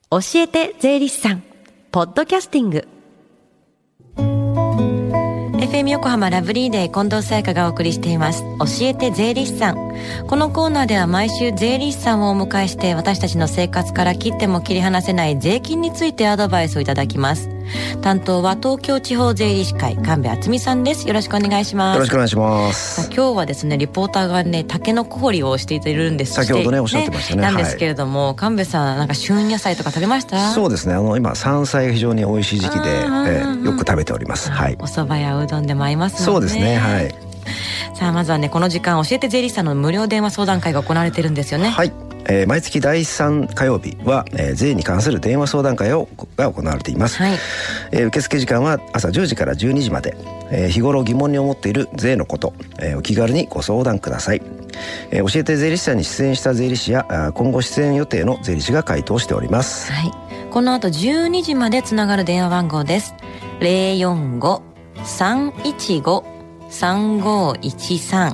教えて税理士さんポッドキャスティング。 FM 横浜ラブリーデー近藤沙耶香がお送りしています、教えて税理士さん。このコーナーでは毎週税理士さんをお迎えして、私たちの生活から切っても切り離せない税金についてアドバイスをいただきます。担当は東京地方税理士会神戸敦美さんです。よろしくお願いします。 よろしくお願いします。 今日はですね、リポーターがね、タケノコ掘りをしているんです。 先ほどねおっしゃってましたね。 なんですけれども、神戸さんなんか旬野菜とか食べました？ そうですね、今山菜が非常に美味しい時期で、よく食べております。はい。 お蕎麦やうどんでも合いますもんね。 そうですね、はい。 さあまずはね、この時間教えて税理士さんの無料電話相談会が行われてるんですよね。 はい。毎月第3火曜日は、税に関する電話相談会が行われています。はい。受付時間は朝10時から12時まで。日頃疑問に思っている税のこと、お気軽にご相談ください。教えて税理士さんに出演した税理士や今後出演予定の税理士が回答しております。 はい。この後12時までつながる電話番号です。 045-315-3513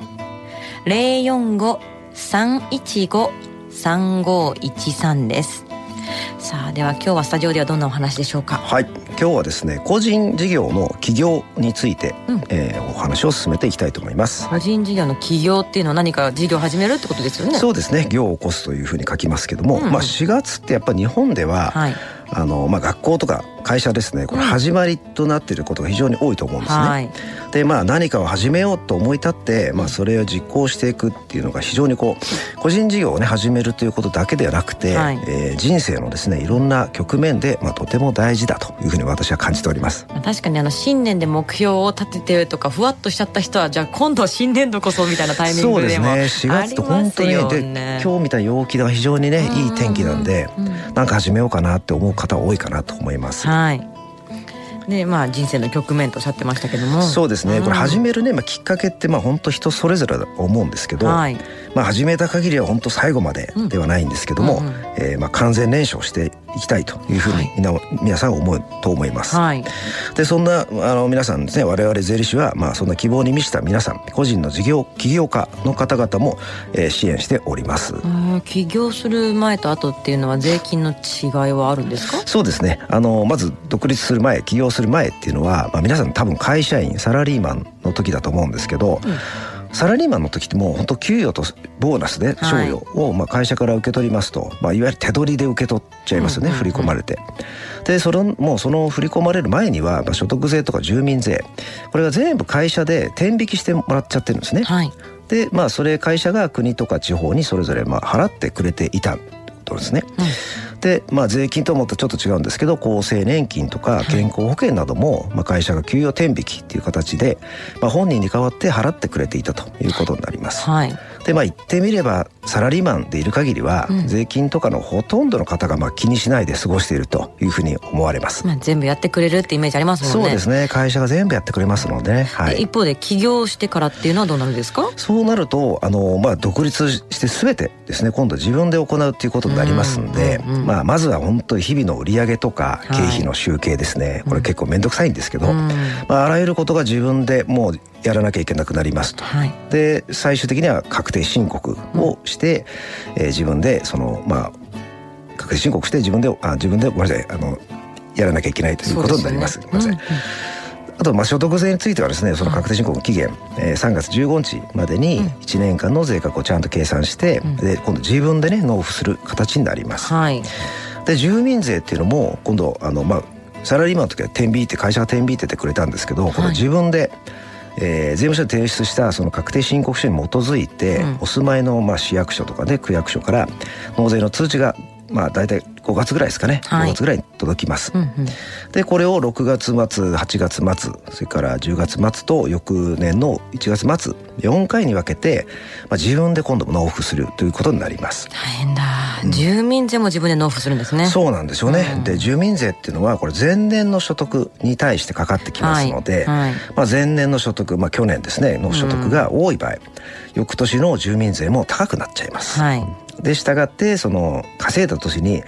045-315-3513です。さあでは今日はスタジオではどんなお話でしょうか？ はい、今日はですね、個人事業の起業について、お話を進めていきたいと思います。 個人事業の起業っていうのは何か事業を始めるってことですよね？ そうですね、業を起こすというふうに書きますけども、4月ってやっぱり日本では、はい、学校とか会社ですね、これ始まりとなっていることが非常に多いと思うんですね。はい、で何かを始めようと思い立って、それを実行していくっていうのが非常に個人事業をね始めるということだけではなくて、はい、人生のですねいろんな局面で、とても大事だというふうに私は感じております。 確かに新年で目標を立ててとかふわっとしちゃった人は、じゃあ今度新年度こそみたいなタイミングでもありますよね。 そうですね、4月と本当にで今日みたいな陽気が非常にねいい天気なんで、なんか始めようかなって思う方多いかなと思います。 はい。で人生の局面とおっしゃってましたけども、 そうですね、これ始めるね、きっかけって本当人それぞれだと思うんですけど、はい、始めた限りは本当最後までではないんですけども、完全燃焼していきたいというふうに皆さん思うと思います。はい、でそんな皆さんですね、我々税理士はそんな希望に満ちた皆さん、個人の起業家の方々も、支援しております。 起業する前と後っていうのは税金の違いはあるんですか？ そうですね、まず独立する前、起業する前っていうのは、皆さん多分会社員サラリーマンの時だと思うんですけど、サラリーマンの時ってもう本当給与とボーナスで賞与を会社から受け取りますと、いわゆる手取りで受け取っちゃいますよね、振り込まれて。でもうその振り込まれる前には、所得税とか住民税、これが全部会社で天引きしてもらっちゃってるんですね。はい、でそれ会社が国とか地方にそれぞれ払ってくれていたことですね。で税金ともとちょっと違うんですけど、厚生年金とか健康保険なども、会社が給与天引きっていう形で、本人に代わって払ってくれていたということになります。はい、で言ってみればサラリーマンでいる限りは、税金とかのほとんどの方が気にしないで過ごしているというふうに思われます。 全部やってくれるってイメージありますもんね。 そうですね、会社が全部やってくれますのでね。はい、 一方で起業してからっていうのはどうなるんですか？ そうなると独立して全てですね、今度自分で行うっていうことになりますんで、まずは本当に日々の売上とか経費の集計ですね、これ結構面倒くさいんですけど、あらゆることが自分でもうやらなきゃいけなくなりますと。はい、で最終的には確定申告をして、自分で確定申告して自分でごめんなさい、やらなきゃいけないということになります。ごめんなさい。あと所得税についてはですね、その確定申告の期限、3月15日までに1年間の税額をちゃんと計算して、で今度自分でね納付する形になります。はい、で住民税っていうのも今度サラリーマンの時は天引いて会社が天引いててくれたんですけど、この自分で、税務署に提出したその確定申告書に基づいて、お住まいの市役所とかで区役所から納税の通知が大体5月ぐらいですかね、5月ぐらいに届きます。でこれを6月末、8月末、それから10月末と翌年の1月末4回に分けて、自分で今度も納付するということになります。 大変だ。住民税も自分で納付するんですね。 そうなんですよね。で住民税っていうのはこれ前年の所得に対してかかってきますので、前年の所得、去年ですねの所得が多い場合、翌年の住民税も高くなっちゃいます。はい、で従ってその稼いだ年に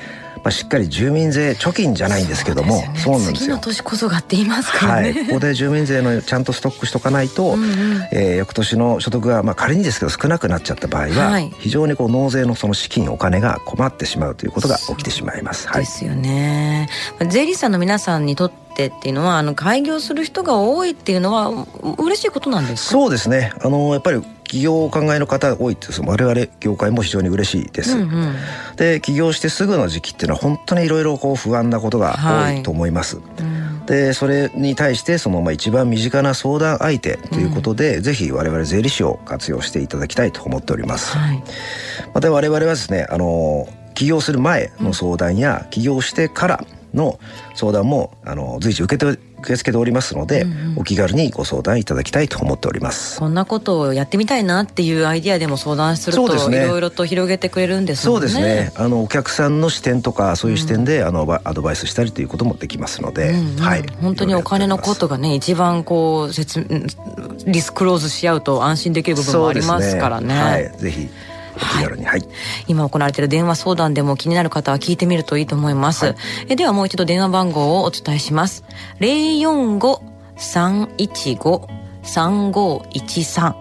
しっかり住民税貯金じゃないんですけども、 そうなんですよ、次の年こそがって言いますからね、 ここで住民税のちゃんとストックしとかないと、翌年の所得が仮にですけど少なくなっちゃった場合は、非常に納税のその資金お金が困ってしまうということが起きてしまいます。 ですよね。税理士さんの皆さんにとってっていうのは開業する人が多いっていうのは嬉しいことなんですか？ そうですね。やっぱり起業をお考えの方が多いって我々業界も非常に嬉しいです、で起業してすぐの時期っていうのは本当にいろいろ不安なことが多いと思います、でそれに対して一番身近な相談相手ということで、ぜひ我々税理士を活用していただきたいと思っております、また我々はですね起業する前の相談や起業してからの相談も随時受け付けておりますので、お気軽にご相談いただきたいと思っております。 こんなことをやってみたいなっていうアイディアでも相談するといろいろと広げてくれるんですもんね。 そうですね。お客さんの視点とかそういう視点でアドバイスしたりということもできますので、 本当にお金のことがね一番リスクローズし合うと安心できる部分もありますからね。 ぜひお気軽に、 今行われている電話相談でも気になる方は聞いてみるといいと思います、ではもう一度電話番号をお伝えします。 045-315-3513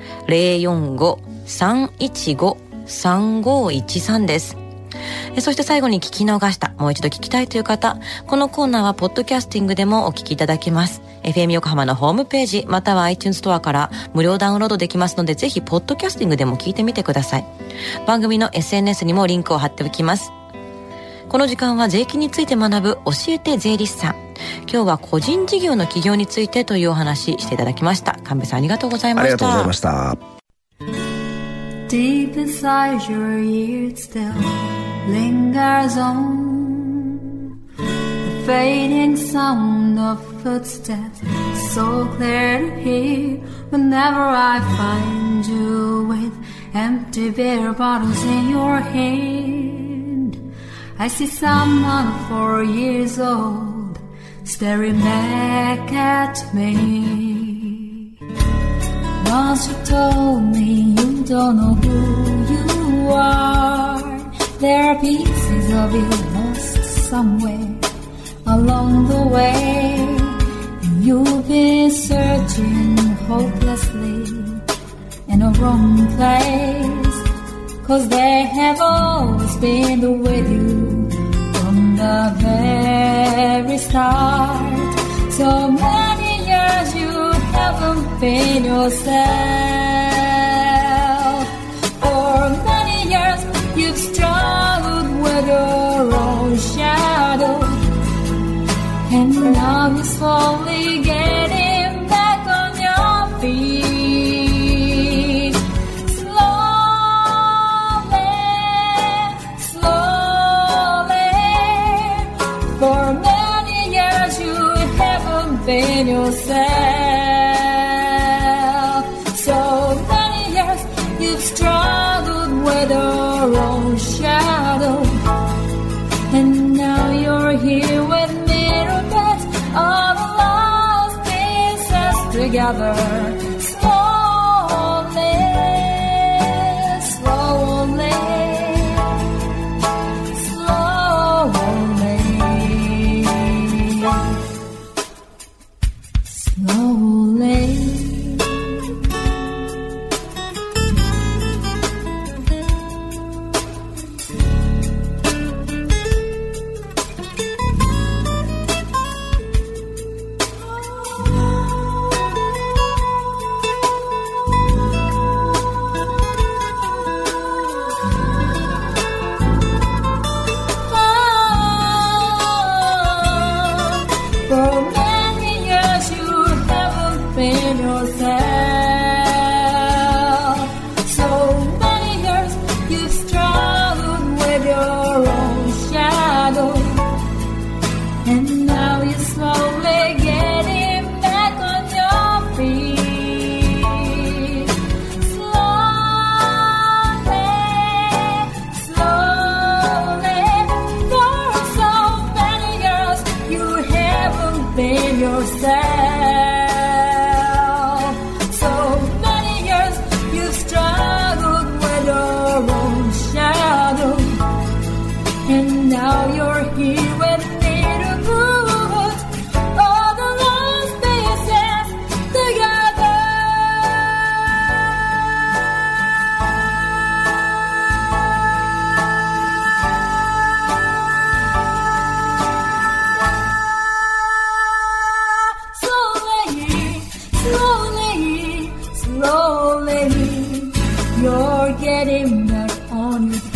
045-315-3513 です。そして最後に聞き逃した、もう一度聞きたいという方、このコーナーはポッドキャスティングでもお聞きいただけます。 FM 横浜のホームページまたは iTunes ストアから無料ダウンロードできますので、ぜひポッドキャスティングでも聞いてみてください。番組の SNS にもリンクを貼っておきます。この時間は税金について学ぶ教えて税理士さん。今日は個人事業の起業についてというお話していただきました。神戸さんありがとうございました。 ありがとうございました。 Deep inside your ears still lingers on the fading sound of footsteps, so clear to hear whenever I find you with empty beer bottles in your hand. I see someone 4 years old staring back at me. Once you told me you don't know who you are.There are pieces of you lost somewhere along the way, and you've been searching hopelessly in a wrong place, 'cause they have always been with you from the very start. So many years you haven't been yourself. For many years you've struggled with your own shadow, and now you're slowly getting back on your feet. Slowly, slowly. For many years you haven't been yourself. So many years you've struggled with your own shadow, and now you're here with mirror beds, all the lost pieces together. Slowly, slowly, slowly, now you're you're getting back on your